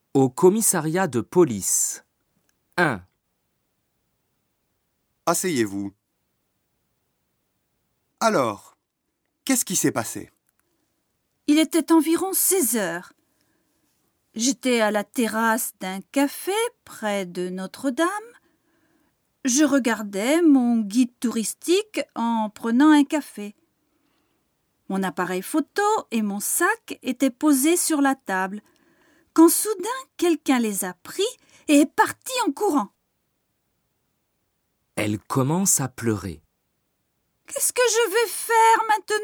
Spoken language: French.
Au commissariat de police. 1. Asseyez-vous. Alors, qu'est-ce qui s'est passé? Il était environ 16 heures. J'étais à la terrasse d'un café près de Notre-Dame. Je regardais mon guide touristique en prenant un café. Mon appareil photo et mon sac étaient posés sur la table, quand soudain quelqu'un les a pris et est parti en courant. Elle commence à pleurer. Qu'est-ce que je vais faire maintenant ?